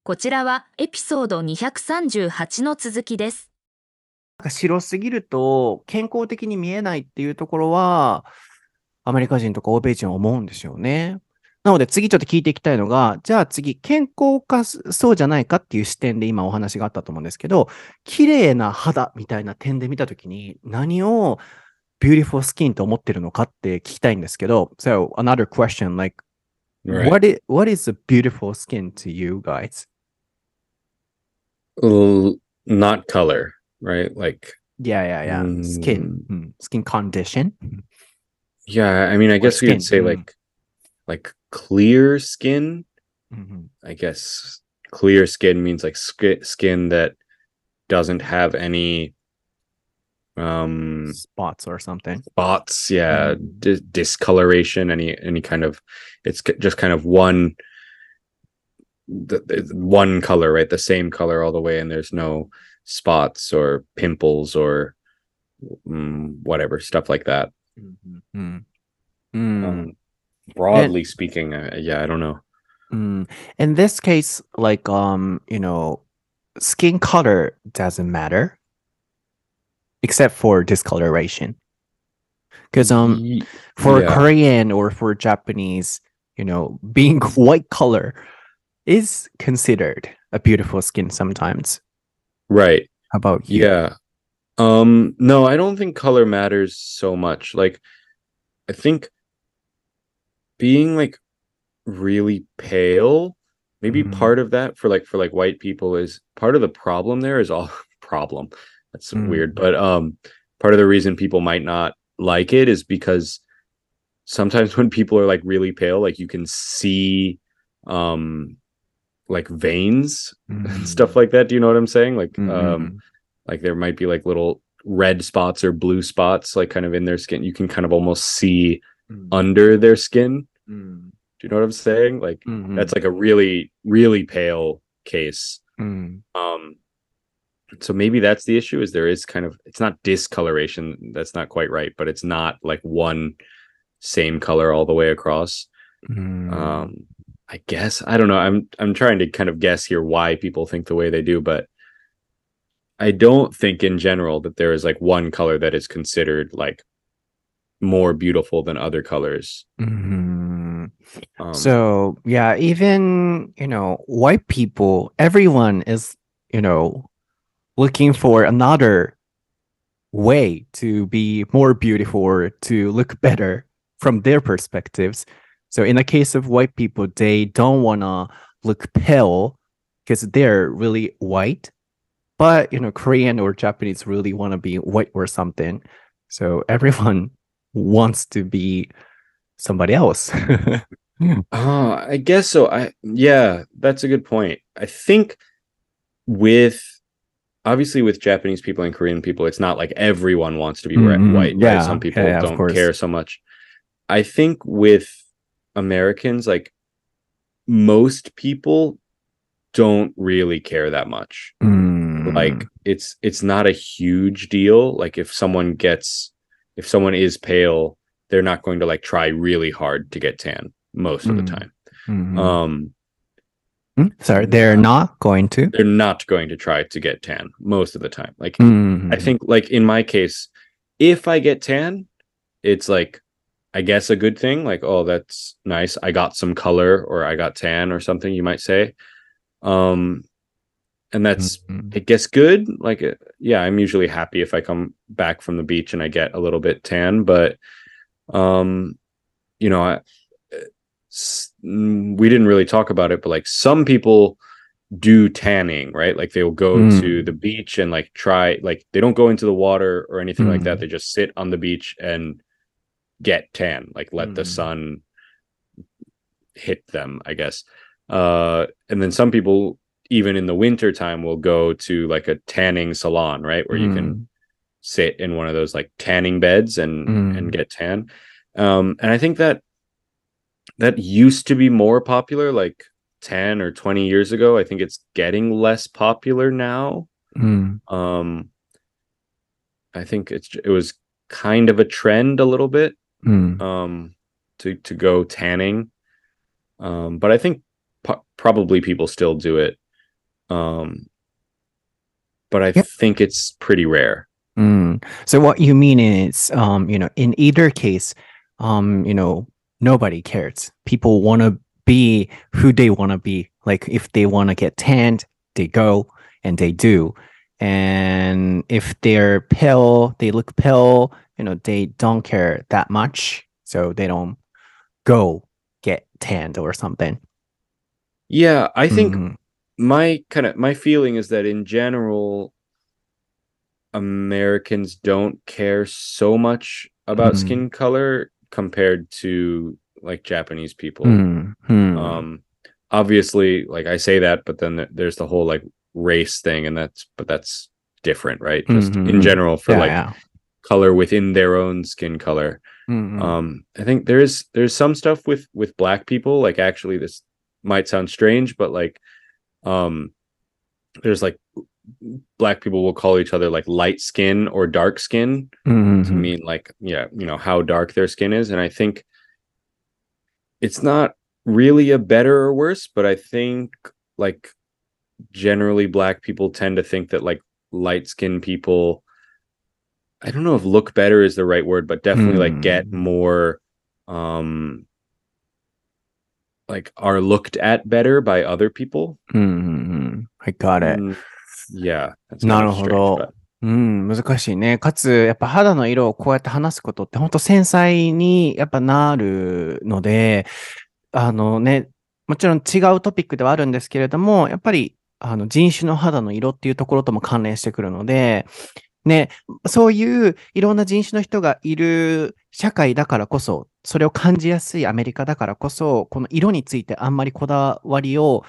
こちらはエピソード238の続きです。 なんか白すぎると健康的に見えないっていうところは、アメリカ人とか欧米人は思うんですよね。なので次ちょっと聞いていきたいのが、じゃあ次、健康かそうじゃないかっていう視点で今お話があったと思うんですけど、綺麗な肌みたいな点で見たときに何を beautiful skin と思ってるのかって聞きたいんですけど、So another question, like, Right. what is a beautiful skin to you guys? Not color, right? Like, Yeah. Skin. mm, Skin condition yeah, I mean, I or guess we would skin. say like clear skin. Mhm. I guess clear skin means like skin that doesn't have any Spots or something. spots, yeah, Mhm. discoloration, any kind of just kind of one color, right? The same color all the way, and there's no spots or pimples or whatever stuff like that. Mhm. Mm. Um, And broadly speaking, yeah, I don't know. in this case, like skin color doesn't matter except for discoloration. Because for Yeah, Korean or for Japanese, being white color is considered a beautiful skin sometimes. right. How about you? Yeah. No, I don't think color matters so much. Like, I think being like really pale, maybe Mm, part of that for white people is part of the problem there is all problem. That's weird, mm, but part of the reason people might not like it is because sometimes when people are like really pale, like you can see um like veins and stuff mm, like that. Do you know what I'm saying? mm, Like there might be like little red spots or blue spots like kind of in their skin. You can kind of almost see mm, under their skin. mm, Do you know what I'm saying? Like mm, that's like a really, really pale case. mm, Um, so maybe that's the issue is there is kind of it's not discoloration, that's not quite right, but it's not like one same color all the way across. mm. Um, I guess I don't know. I'm trying to kind of guess here why people think the way they do, but I don't think in general that there is like one color that is considered like more beautiful than other colors. Mhm. Um, So, yeah, even, white people, everyone is, looking for another way to be more beautiful or to look better from their perspectives. So, in the case of white people, they don't want to look pale because they're really white. But, Korean or Japanese really want to be white or something. So, everyone wants to be somebody else. I guess so. Yeah, that's a good point. I think with obviously with Japanese people and Korean people, it's not like everyone wants to be white, right? Some people Yeah, of don't course. care so much. I think with Americans, like most people don't really care that much. Mm, Like it's not a huge deal. Like if someone is pale, they're not going to like try really hard to get tan most of the mm, time. mm, Um Sorry, they're not going to. they're not going to try to get tan most of the time. Like I Mm, think like in my case, if I get tan, it's like I guess a good thing. Like, oh, that's nice. I got some color or I got tan or something you might say. Um and that's mm, I guess good. Like yeah, I'm usually happy if I come back from the beach and I get a little bit tan, but um you know, we didn't really talk about it, but like some people do tanning, right? Like they'll go to the mm, beach and like try like they don't go into the water or anything like that. mm, They just sit on the beach and get tan, like let the mm, sun hit them, I guess. And then some people even in the winter time will go to like a tanning salon, right? Where you can mm, sit in one of those like tanning beds and mm, get tan. And I think that that used to be more popular like 10 or 20 years ago. I think it's getting less popular now. mm, Um, I think it was kind of a trend a little bit mm, um, to go tanning. But I think probably people still do it. Um, but I Yep. think it's pretty rare. So what you mean is, in either case, nobody cares. People want to be who they want to be. Like if they want to get tanned, they go and they do. And if they're pale, they look pale, they don't care that much. So they don't go get tanned or something. Yeah, I think Mhm. my feeling is that in general, Americans don't care so much about skin color compared to like Japanese people. Obviously, like I say that, but then there's the whole like race thing, and that's different, right? Just in general for color within their own skin color. I think there's some stuff with black people, like actually this might sound strange, but like there's like black people will call each other like light skin or dark skin to mean like, how dark their skin is. And I think it's not really a better or worse, but I think like generally black people tend to think that like light skinned people, I don't know if look better is the right word, but definitely like get more like are looked at better by other people. I got it. Yeah, that's な kind る of ほ strange, ど。 but 難しいね。かつ、やっぱ肌の色をこうやって話すことって本当繊細にやっぱなるので、もちろん違うトピックではあるんですけれども、やっぱり人種の肌の色っていうところとも関連してくるので、ね、そういういろんな人種の人がいる社会だからこそ、それを感じやすいアメリカだからこそ、この色についてあんまりこだわりを、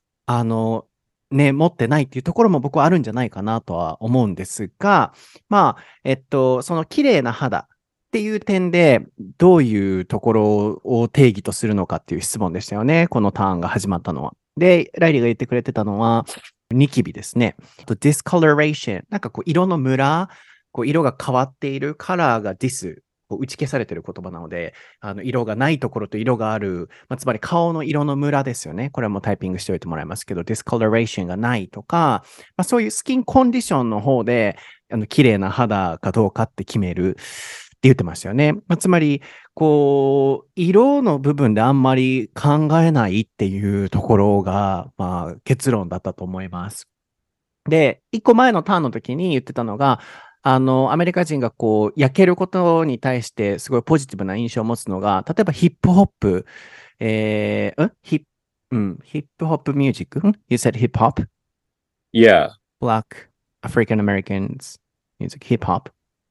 持ってないっていうところも僕はあるんじゃないかなとは思うんですが、その綺麗な肌っていう点で、どういうところを定義とするのかっていう質問でしたよね。このターンが始まったのは。で、ライリーが言ってくれてたのは、ニキビですね。discoloration。なんかこう、色のムラ、こう色が変わっているカラーが dis。こう打ち消されている言葉なので、色がないところと色がある、つまり顔の色のムラですよね。これはもうタイピングしておいてもらいますけど、discoloration がないとか、そういうスキンコンディションの方で、綺麗な肌かどうかって決めるって言ってましたよね。つまり、こう、色の部分であんまり考えないっていうところが、結論だったと思います。で、一個前のターンの時に言ってたのが、アメリカ人がこう、焼けることに対してすごいポジティブな印象を持つのが、例えばヒップホップ、ヒップホップミュージック ?You said hip hop? Yeah. Black African Americans music, hip hop?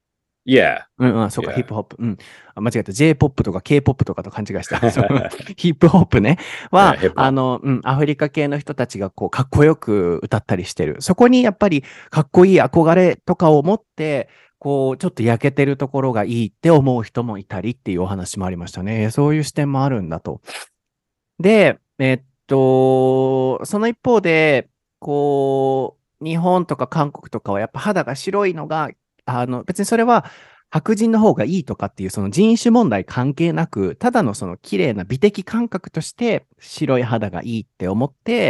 Yeah. そうか、 Yeah. ヒップホップ。間違えた。J-POP とか K-POP とかと勘違いした。ヒップホップね。は、 Yeah, hip hop. アフリカ系の人たちがこう、かっこよく歌ったりしてる。そこにやっぱり、かっこいい憧れとかを持って、こう、ちょっと焼けてるところがいいって思う人もいたりっていうお話もありましたね。そういう視点もあるんだと。で、その一方で、こう、日本とか韓国とかはやっぱ肌が白いのが、別にそれは白人の方がいいとかっていうその人種問題関係なく、ただのその綺麗な美的感覚として白い肌がいいって思って、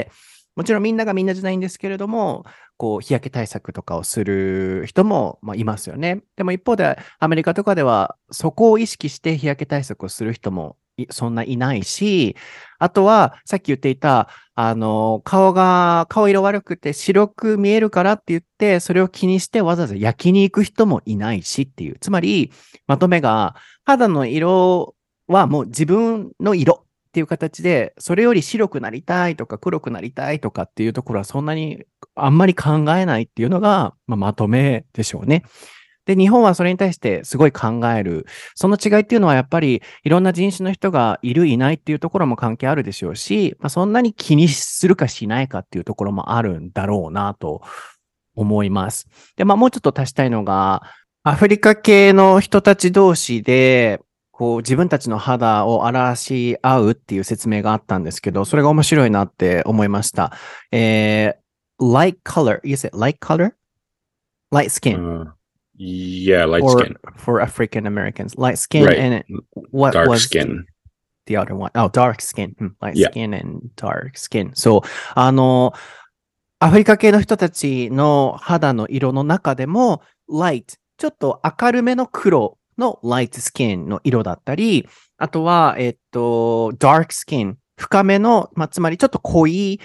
もちろんみんながみんなじゃないんですけれども、こう日焼け対策とかをする人もいますよね。でも一方でアメリカとかではそこを意識して日焼け対策をする人もそんないないし、あとはさっき言っていた顔色悪くて白く見えるからって言って、それを気にしてわざわざ焼きに行く人もいないしっていう。つまり、まとめが、肌の色はもう自分の色っていう形で、それより白くなりたいとか黒くなりたいとかっていうところはそんなにあんまり考えないっていうのが、まとめでしょうね。で、日本はそれに対してすごい考える。その違いっていうのはやっぱりいろんな人種の人がいるいないっていうところも関係あるでしょうし、そんなに気にするかしないかっていうところもあるんだろうなと思います。で、もうちょっと足したいのが、アフリカ系の人たち同士で、こう自分たちの肌を表し合うっていう説明があったんですけど、それが面白いなって思いました。light color. You said light color? Light skin.、 Yeah, light skin. For African Americans. Light skin Right. and what Dark was skin. the other one? Oh, dark skin. Light Yeah. skin and dark skin. そう。 アフリカ系の人たちの肌の色の中でも、light、ちょっと明るめの黒の light skin の色だったり、あとは、dark skin、深めの、つまりちょっと濃い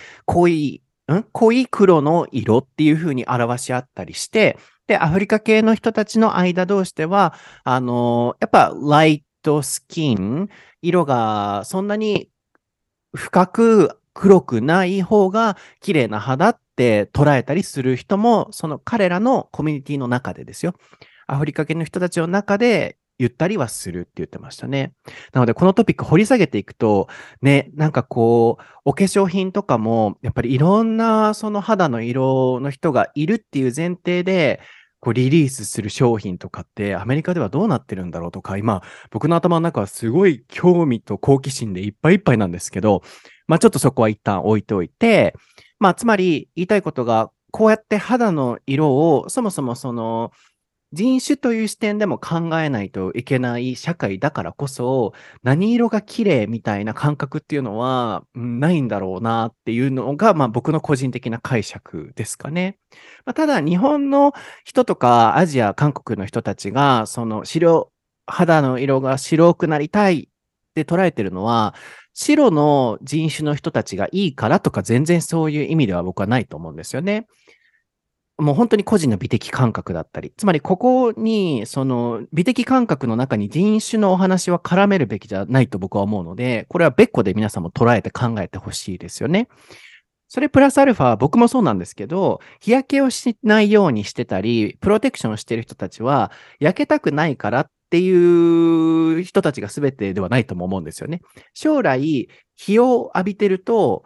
黒の色っていう風に表し合ったりして、で、アフリカ系の人たちの間同士では、やっぱ、ライトスキン、色がそんなに深く黒くない方が綺麗な肌って捉えたりする人も、その彼らのコミュニティの中でですよ。アフリカ系の人たちの中で言ったりはするって言ってましたね。なので、このトピック掘り下げていくと、ね、なんかこう、お化粧品とかも、やっぱりいろんなその肌の色の人がいるっていう前提で、こうリリースする商品とかってアメリカではどうなってるんだろうとか、今、僕の頭の中はすごい興味と好奇心でいっぱいいっぱいなんですけど、ちょっとそこは一旦置いておいて、つまり言いたいことが、こうやって肌の色を、そもそもその、人種という視点でも考えないといけない社会だからこそ、何色が綺麗みたいな感覚っていうのは、ないんだろうなっていうのが、僕の個人的な解釈ですかね。ただ、日本の人とか、アジア、韓国の人たちが、その肌の色が白くなりたいって捉えてるのは、白の人種の人たちがいいからとか、全然そういう意味では僕はないと思うんですよね。もう本当に個人の美的感覚だったり、つまりここに、その美的感覚の中に人種のお話は絡めるべきじゃないと僕は思うので、これは別個で皆さんも捉えて考えてほしいですよね。それプラスアルファ、僕もそうなんですけど、日焼けをしないようにしてたり、プロテクションをしている人たちは、焼けたくないからっていう人たちが全てではないとも思うんですよね。将来、日を浴びてると、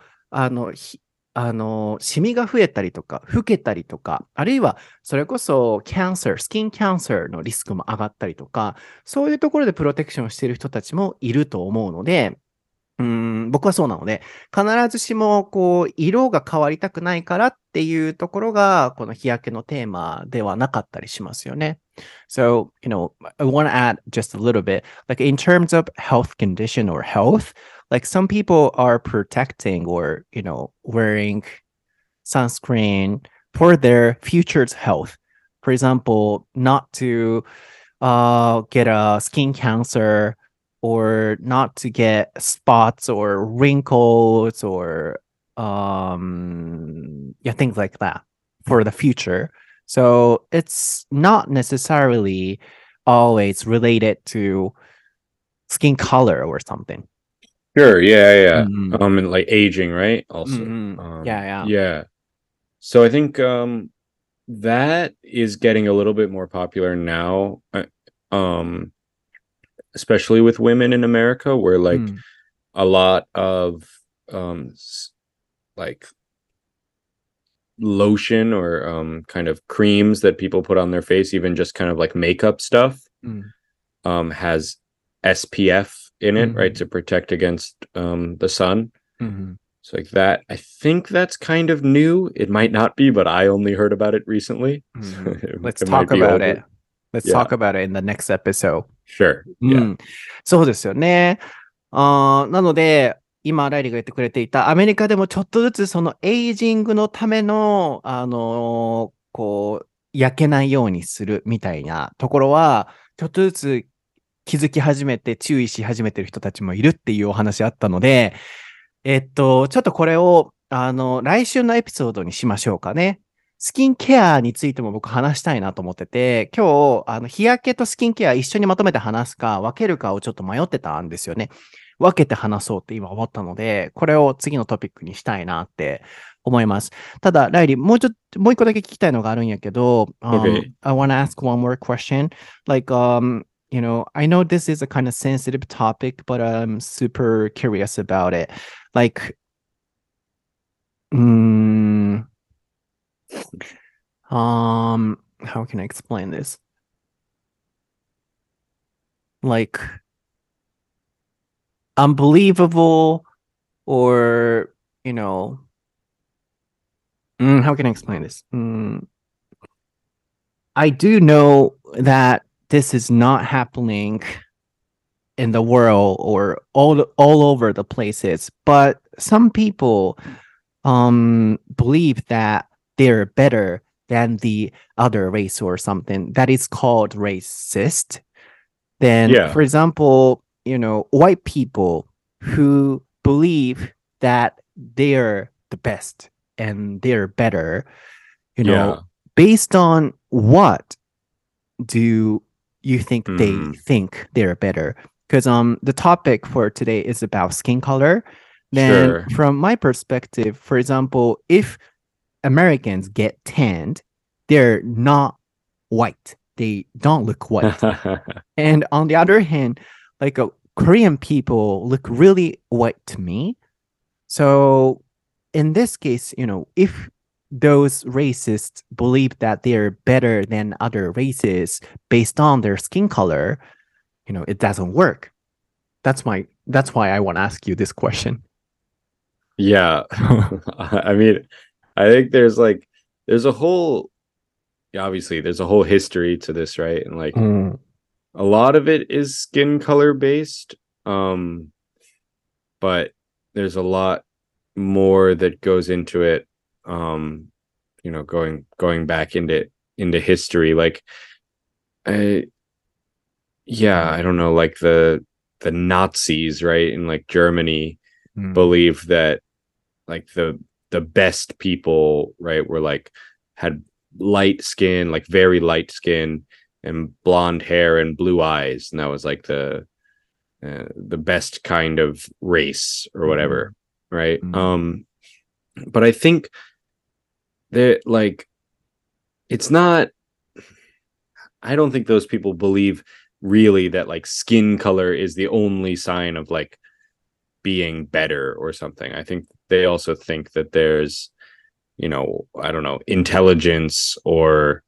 シミが増えたりとか、老けたりとか、あるいは、それこそ、スキンキャンサーのリスクも上がったりとか、そういうところでプロテクションしている人たちもいると思うので、僕はそうなので、必ずしも、こう、色が変わりたくないからっていうところが、この日焼けのテーマではなかったりしますよね。So, I want to add just a little bit, like in terms of health condition or health, like some people are protecting or, wearing sunscreen for their future's health. For example, not to get a skin cancer or not to get spots or wrinkles or things like that for the future. So it's not necessarily always related to skin color or something. Sure, yeah. Mhm. And like aging, right? Also. Yeah. Yeah. So I think that is getting a little bit more popular now. Especially with women in America, where like a lot of like lotion or kind of creams that people put on their face, even just kind of like makeup stuff, has SPF in it, right, to protect against the sun. So like that, I think that's kind of new. It might not be, but I only heard about it recently. Let's talk about it. Let's talk about it in the next episode. Sure. Yeah. そうですよね。なので、今、ライリーが言ってくれていた、アメリカでもちょっとずつそのエイジングのための、こう、焼けないようにするみたいなところは、ちょっとずつ気づき始めて注意し始めてる人たちもいるっていうお話あったので、ちょっとこれを、来週のエピソードにしましょうかね。スキンケアについても僕話したいなと思ってて、今日、日焼けとスキンケア一緒にまとめて話すか、分けるかをちょっと迷ってたんですよね。分けて話そうって今思ったので、これを次のトピックにしたいなって思います。ただ、ライリー、もう一個だけ聞きたいのがあるんやけど、 Okay. I want to ask one more question. Like, I know this is a kind of sensitive topic, but I'm super curious about it. Like, how can I explain this? Like, unbelievable or, how can I explain this? I do know that this is not happening in the world or all over the places, but some people believe that they're better than the other race or something, that is called racist. Then, Yeah. for example, white people who believe that they're the best and they're better, Yeah. based on what do you think they Mhm. think they're better? Because the topic for today is about skin color. Then Sure. from my perspective, for example, if Americans get tanned, they're not white. They don't look white. And on the other hand, like Korean people look really white to me. So in this case, if those racists believe that they're better than other races based on their skin color, it doesn't work. That's why I want to ask you this question. Yeah. I mean, I think there's a whole, obviously there's a whole history to this, right? And like a lot of it is skin color based. But there's a lot more that goes into it. Going back into history, like I I don't know, like the Nazis, right? In like Germany believed that like the best people, right, were like had light skin, like very light skin and blonde hair and blue eyes, and that was like the best kind of race or whatever, right? But I think that like it's not. I don't think those people believe really that like skin color is the only sign of like being better or something. I think they also think that there's, I don't know, intelligence or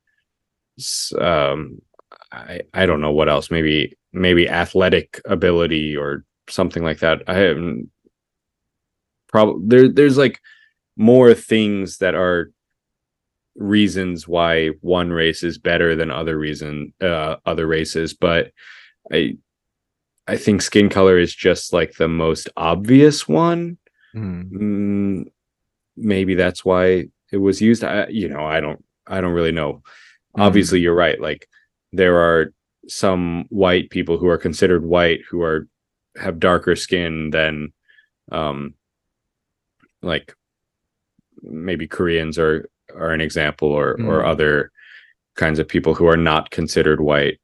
I don't know what else, maybe athletic ability or something like that. I haven't there's like more things that are reasons why one race is better than other races, but I think skin color is just like the most obvious one. Maybe that's why it was used. I don't really know. Obviously you're right, like there are some white people who are considered white who have darker skin than like maybe Koreans are an example, or other kinds of people who are not considered white.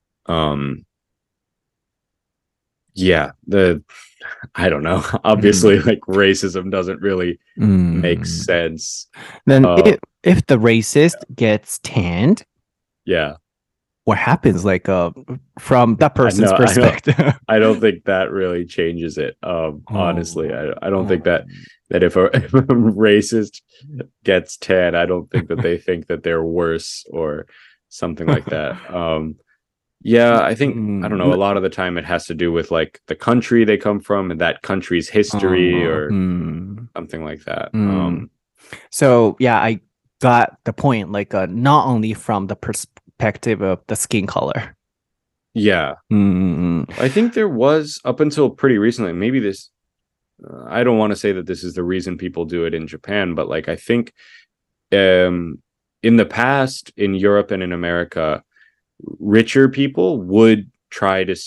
I don't know. Obviously, like racism doesn't really make sense. Then if the racist gets tanned, Yeah, what happens? Like from that person's perspective. I don't think that really changes it. Honestly, I don't think that if a racist gets tan, I don't think that they think that they're worse or something like that. I think I don't know. A lot of the time, it has to do with like the country they come from and that country's history or something like that. So yeah, I got the point. Like not only from the perspective of the skin color. Yeah, I think there was up until pretty recently. Maybe this. I don't want to say that this is the reason people do it in Japan, but like I think, in the past in Europe and in America, richer people would try to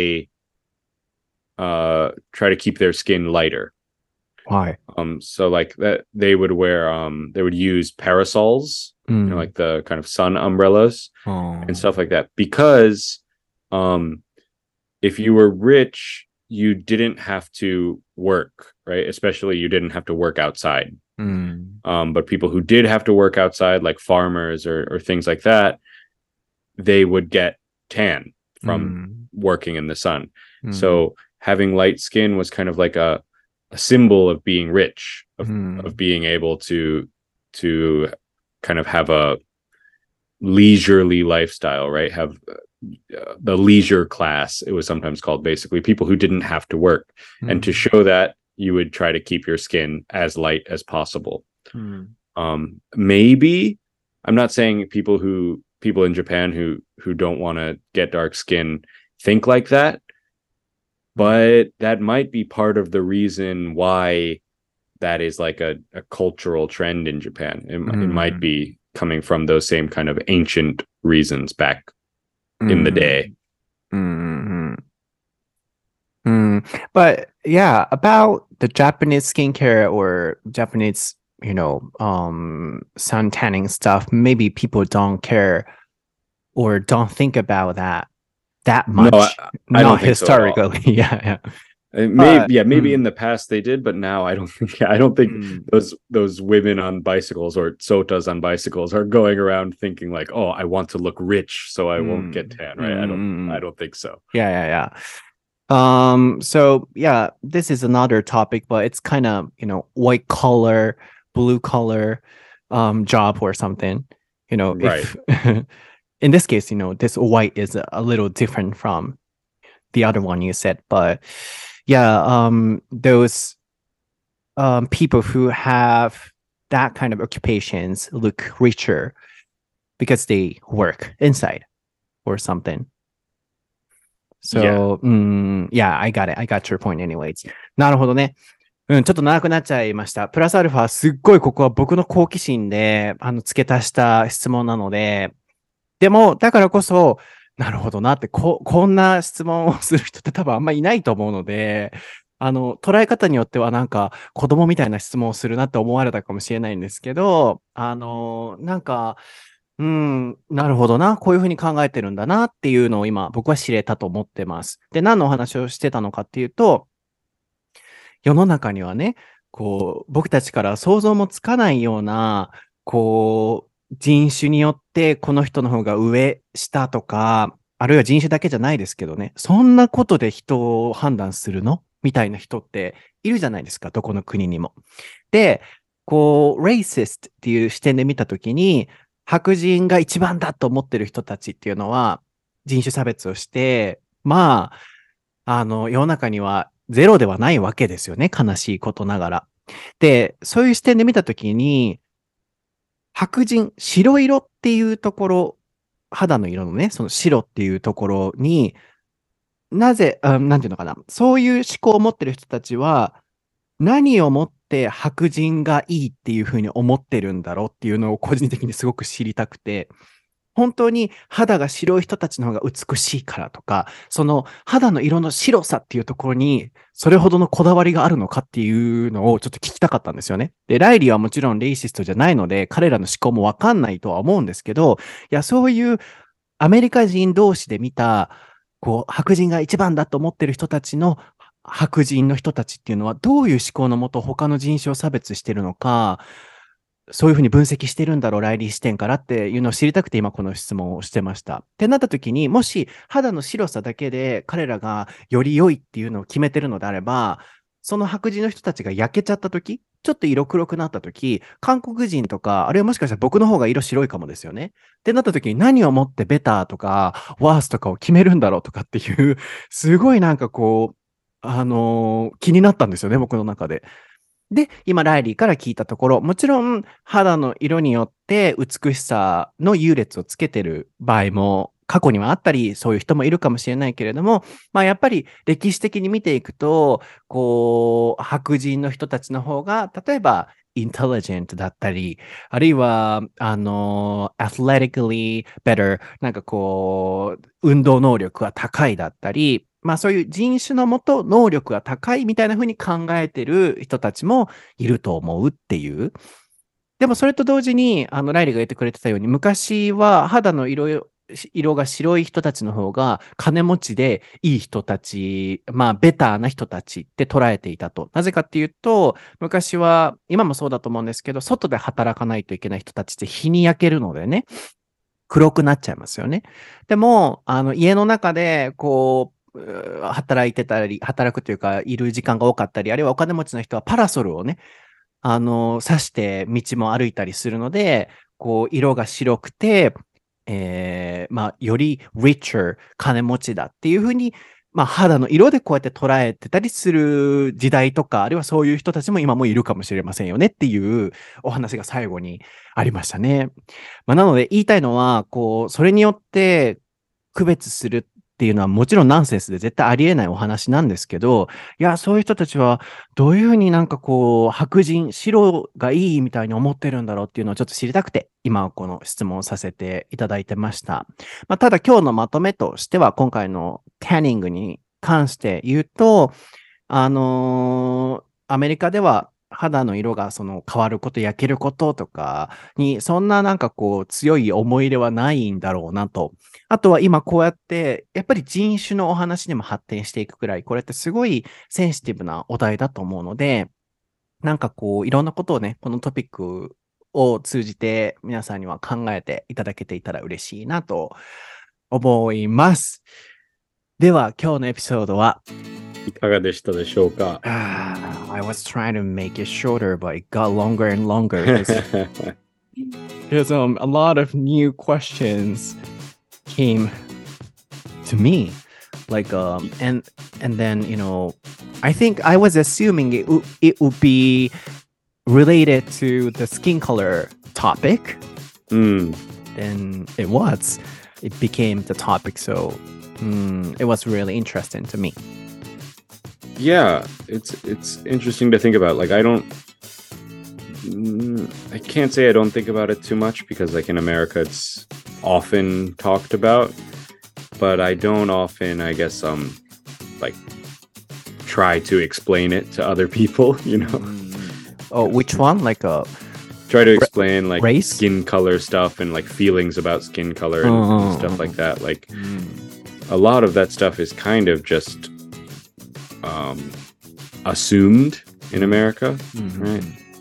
keep their skin lighter. Why? So like that they would use parasols, like the kind of sun umbrellas and stuff like that, because if you were rich, you didn't have to work, right? Especially you didn't have to work outside. But people who did have to work outside, like farmers or things like that, they would get tan from working in the sun. So having light skin was kind of like a symbol of being rich, of being able to kind of have a leisurely lifestyle, right? Have the leisure class, it was sometimes called, basically people who didn't have to work. And to show that, you would try to keep your skin as light as possible. Maybe, I'm not saying people in Japan who don't want to get dark skin think like that, but that might be part of the reason why that is like a cultural trend in Japan. It might be coming from those same kind of ancient reasons back in the day. But yeah, about the Japanese skincare or Japanese, sun tanning stuff, maybe people don't care or don't think about that much. No, I don't think historically. So yeah. Maybe in the past they did, but now I don't think those women on bicycles or sotas on bicycles are going around thinking like, oh, I want to look rich so I won't get tan, right? I don't think so. Yeah. So yeah, this is another topic, but it's kind of, white collar, blue collar job or something. Right. If in this case, this white is a little different from the other one you said, but yeah, those people who have that kind of occupations look richer because they work inside or something. So, yeah, I got it. I got your point anyways. なるほどね。ちょっと長くなっちゃいました。プラスアルファ、すっごいここは僕の好奇心で、付け足した質問なので、でも、だからこそ、なるほどなって、こんな質問をする人って多分あんまいないと思うので、捉え方によってはなんか子供みたいな質問をするなって思われたかもしれないんですけど、なんか、なるほどな。こういうふうに考えてるんだなっていうのを今僕は知れたと思ってます。で、何のお話をしてたのかっていうと、世の中にはね、僕たちから想像もつかないような、人種によってこの人の方が上、下とか、あるいは人種だけじゃないですけどね、そんなことで人を判断するのみたいな人っているじゃないですか、どこの国にも。で、racist っていう視点で見たときに、白人が一番だと思ってる人たちっていうのは人種差別をして、世の中にはゼロではないわけですよね。悲しいことながら。で、そういう視点で見たときに、白人、白色っていうところ、肌の色のね、その白っていうところに、なぜ、なんていうのかな。そういう思考を持ってる人たちは、何をもって白人がいいっていうふうに思ってるんだろうっていうのを個人的にすごく知りたくて、本当に肌が白い人たちの方が美しいからとか、その肌の色の白さっていうところにそれほどのこだわりがあるのかっていうのをちょっと聞きたかったんですよね。で、ライリーはもちろんレイシストじゃないので、彼らの思考もわかんないとは思うんですけど、いや、そういうアメリカ人同士で見た、白人が一番だと思ってる人たちの白人の人たちっていうのはどういう思考のもと他の人種を差別してるのか、そういうふうに分析してるんだろう、ライリー視点からっていうのを知りたくて今この質問をしてました。ってなった時に、もし肌の白さだけで彼らがより良いっていうのを決めてるのであれば、その白人の人たちが焼けちゃった時、ちょっと色黒くなった時、韓国人とか、あるいはもしかしたら僕の方が色白いかもですよね。ってなった時に何をもってベターとかワースとかを決めるんだろうとかっていう、すごいなんか気になったんですよね、僕の中で。で、今、ライリーから聞いたところ、もちろん肌の色によって美しさの優劣をつけてる場合も過去にはあったり、そういう人もいるかもしれないけれども、やっぱり歴史的に見ていくと、白人の人たちの方が、例えば、intelligent だったり、あるいは、athletically better、なんか運動能力が高いだったり、そういう人種のもと能力が高いみたいな風に考えてる人たちもいると思うっていう。でもそれと同時に、ライリーが言ってくれてたように、昔は肌の色が白い人たちの方が金持ちでいい人たち、ベターな人たちって捉えていたと。なぜかっていうと、昔は、今もそうだと思うんですけど、外で働かないといけない人たちって日に焼けるのでね、黒くなっちゃいますよね。でも、家の中で、働くというか、いる時間が多かったり、あるいはお金持ちの人はパラソルをね、刺して道も歩いたりするので、色が白くて、より richer 金持ちだっていうふうに、肌の色でこうやって捉えてたりする時代とか、あるいはそういう人たちも今もいるかもしれませんよねっていうお話が最後にありましたね。なので言いたいのは、それによって区別するっていうのはもちろんナンセンスで絶対ありえないお話なんですけど、いや、そういう人たちはどういうふうになんかこう、白人、白がいいみたいに思ってるんだろうっていうのをちょっと知りたくて、今はこの質問をさせていただいてました。まあ、ただ今日のまとめとしては、今回のタニングに関して言うと、アメリカでは肌の色がその変わること、焼けることとかに、そんななんかこう強い思い入れはないんだろうなと。あとは今こうやって、やっぱり人種のお話にも発展していくくらい、これってすごいセンシティブなお題だと思うので、なんかこういろんなことをね、このトピックを通じて皆さんには考えていただけていたら嬉しいなと思います。では今日のエピソードはいかがでしたでしょうか？ I was trying to make it shorter, but it got longer and longer. Because a lot of new questions came to me, like and then I think I was assuming it would be related to the skin color topic, and it was. It became the topic, so it was really interesting to me. Yeah, it's interesting to think about. Like I can't say I don't think about it too much because like in America it's often talked about, but I don't often, I guess, like try to explain it to other people, Oh, which one? Like try to explain like race? Skin color stuff and like feelings about skin color and stuff like that. Like a lot of that stuff is kind of just assumed in America, right?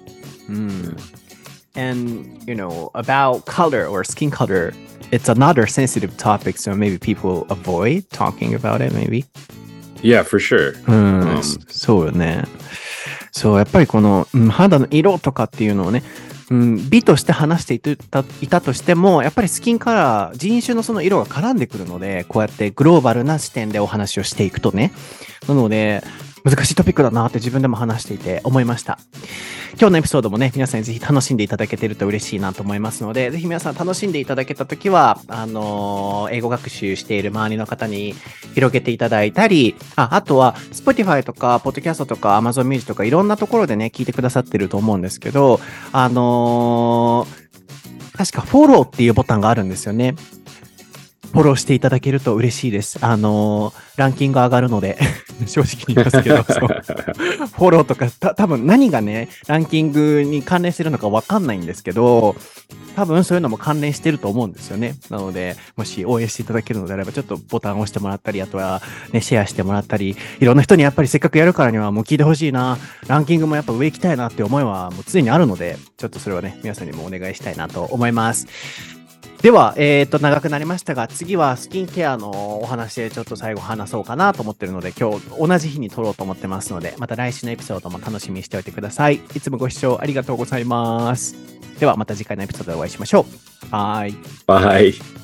And about color or skin color, it's another sensitive topic, so maybe people avoid talking about it, maybe. Yeah, for sure. そうよね。そう、やっぱりこの、肌の色とかっていうのをね、美として話していたとしても、やっぱりスキンカラー、人種のその色が絡んでくるので、こうやってグローバルな視点でお話をしていくとね。なので、難しいトピックだなって自分でも話していて思いました。今日のエピソードもね、皆さんにぜひ楽しんでいただけてると嬉しいなと思いますので、ぜひ皆さん楽しんでいただけたときは、英語学習している周りの方に広げていただいたり、あとは Spotify とか Podcast とか Amazon Music とかいろんなところでね、聞いてくださってると思うんですけど、確かフォローっていうボタンがあるんですよね。フォローしていただけると嬉しいです。ランキング上がるので正直に言いますけど、フォローとか多分何がね、ランキングに関連してるのか分かんないんですけど、多分そういうのも関連してると思うんですよね。なので、もし応援していただけるのであれば、ちょっとボタンを押してもらったり、あとはね、シェアしてもらったり、いろんな人にやっぱりせっかくやるからにはもう聞いてほしいな、ランキングもやっぱ上行きたいなって思いはもう常にあるので、ちょっとそれはね、皆さんにもお願いしたいなと思います。では、長くなりましたが、次はスキンケアのお話でちょっと最後話そうかなと思ってるので、今日同じ日に撮ろうと思ってますので、また来週のエピソードも楽しみにしておいてください。いつもご視聴ありがとうございます。ではまた次回のエピソードでお会いしましょう。バイ。 Bye.